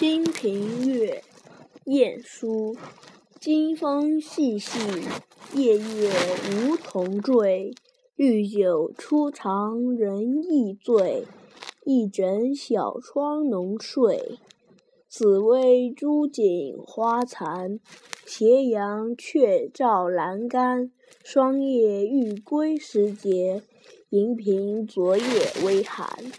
清平乐·晏殊。金风细细，夜月梧桐坠。绿酒初尝人意醉，一枕小窗浓睡。紫微朱槿花残，斜阳却照阑干。霜叶欲归时节，银屏昨夜微寒。